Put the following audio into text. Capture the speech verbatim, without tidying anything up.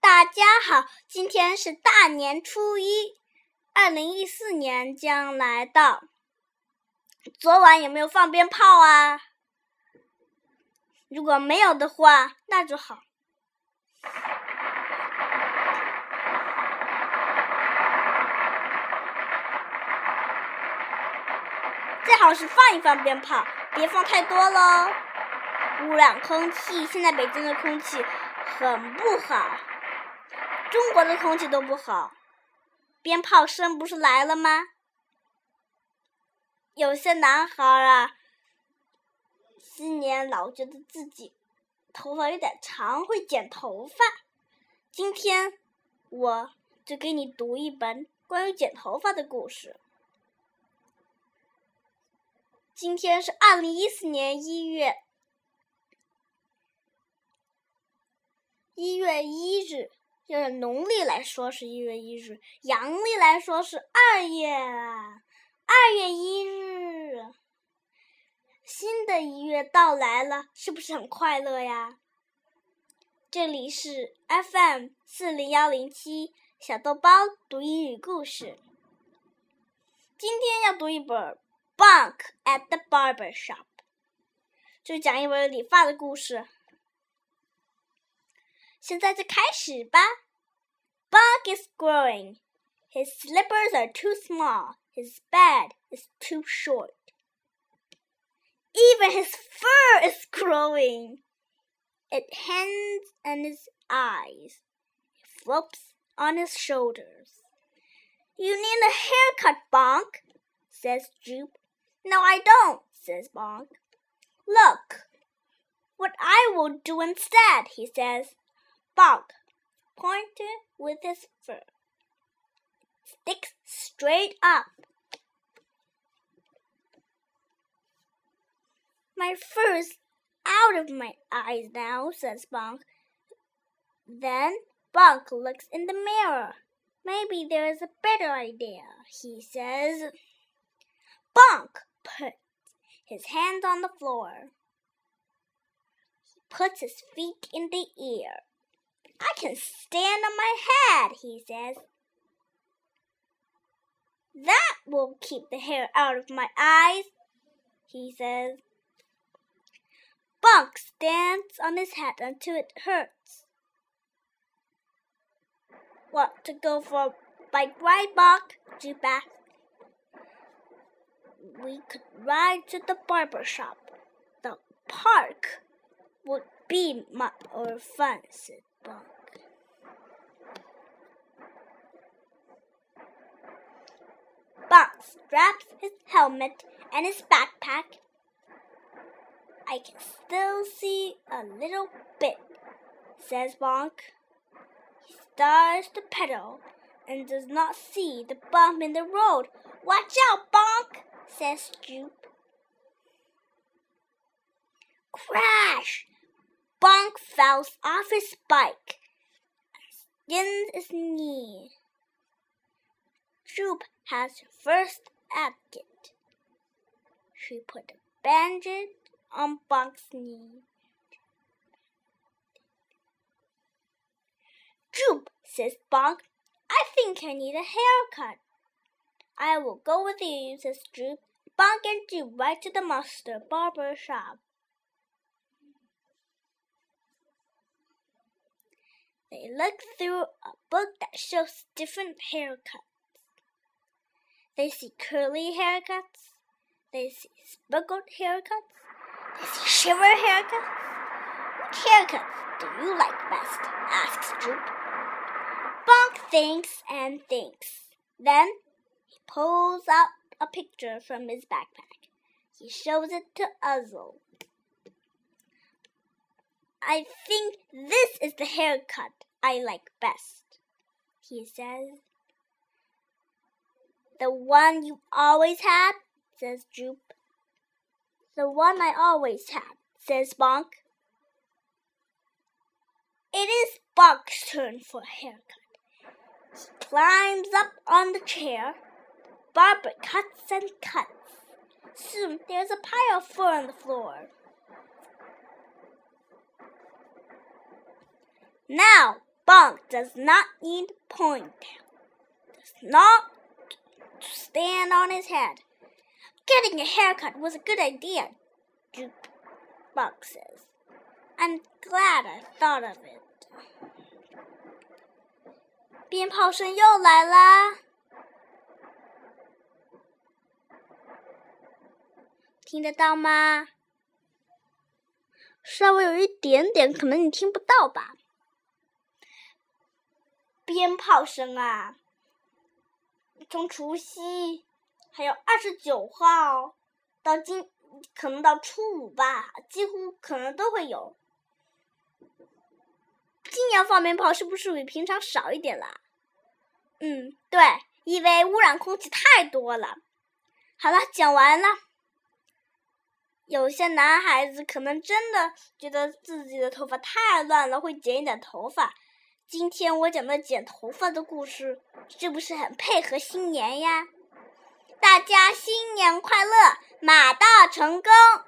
大家好，今天是大年初一，二零一四年将来到。昨晚有没有放鞭炮啊？如果没有的话，那就好。最好是放一放鞭炮，别放太多咯。污染空气，现在北京的空气很不好，中国的空气都不好。鞭炮声不是来了吗？有些男孩啊，新年老觉得自己头发有点长，会剪头发。今天我就给你读一本关于剪头发的故事。今天是二零一四年一月一月一日，就是农历来说是一月一日，阳历来说是二月啊，二月一日，新的一月到来了，是不是很快乐呀？这里是 F M 四零一零七小豆包读英语故事。今天要读一本 Bunk at the Barber Shop， 就讲一本理发的故事。现在就开始吧。 Bunk is growing. His slippers are too small. His bed is too short. Even his fur is growing. It hangs on his eyes. It flops on his shoulders. You need a haircut, Bonk, says Jupe. No, I don't, says Bonk. Look, what I will do instead, he says. Bonk pointed with his fur. Sticks straight up. My fur's out of my eyes now, says Bonk. Then Bonk looks in the mirror. Maybe there's a better idea, he says. Bonk puts his hands on the floor. He puts his feet in the air. I can stand on my head, he says. That will keep the hair out of my eyes, he says. Bonk stands on his head until it hurts. Want to go for a bike ride, Bonk? Jupe asked. We could ride to the barber shop. The park would be more fun, said Bonk. Bonk straps his helmet and his backpack. I can still see a little bit, says Bonk. He starts to pedal and does not see the bump in the road. Watch out, Bonk, says Jupe. Crash! Bonk falls off his bike and skins his knee. Jupe has her first advocate. She put a bandage on Bonk's knee. Jupe, says Bonk, I think I need a haircut. I will go with you, says Jupe. Bonk and Jupe ride to the master barber shop. They look through a book that shows different haircuts. They see curly haircuts. They see speckled haircuts. They see shiver haircuts. What haircuts do you like best? Asks Jupe. Bonk thinks and thinks. Then he pulls out a picture from his backpack. He shows it to Uzzle. I think this is the haircut I like best, he says. The one you always had, says Jupe. The one I always had, says Bonk. It is Bonk's turn for a haircut. He climbs up on the chair. Barber cuts and cuts. Soon there's a pile of fur on the floor. Now, bug does not need point, does not stand on his head. Getting a haircut was a good idea, Jukebug says. I'm glad I thought of it. 鞭炮声又来啦，听得到吗？稍微有一点点，可能你听不到吧。鞭炮声啊，从除夕还有二十九号到今，可能到初五吧，几乎可能都会有。今年放鞭炮是不是比平常少一点啦？嗯，对，因为污染空气太多了。好了，讲完了。有些男孩子可能真的觉得自己的头发太乱了，会剪一点头发。今天我讲的剪头发的故事，是不是很配合新年呀？大家新年快乐，马到成功！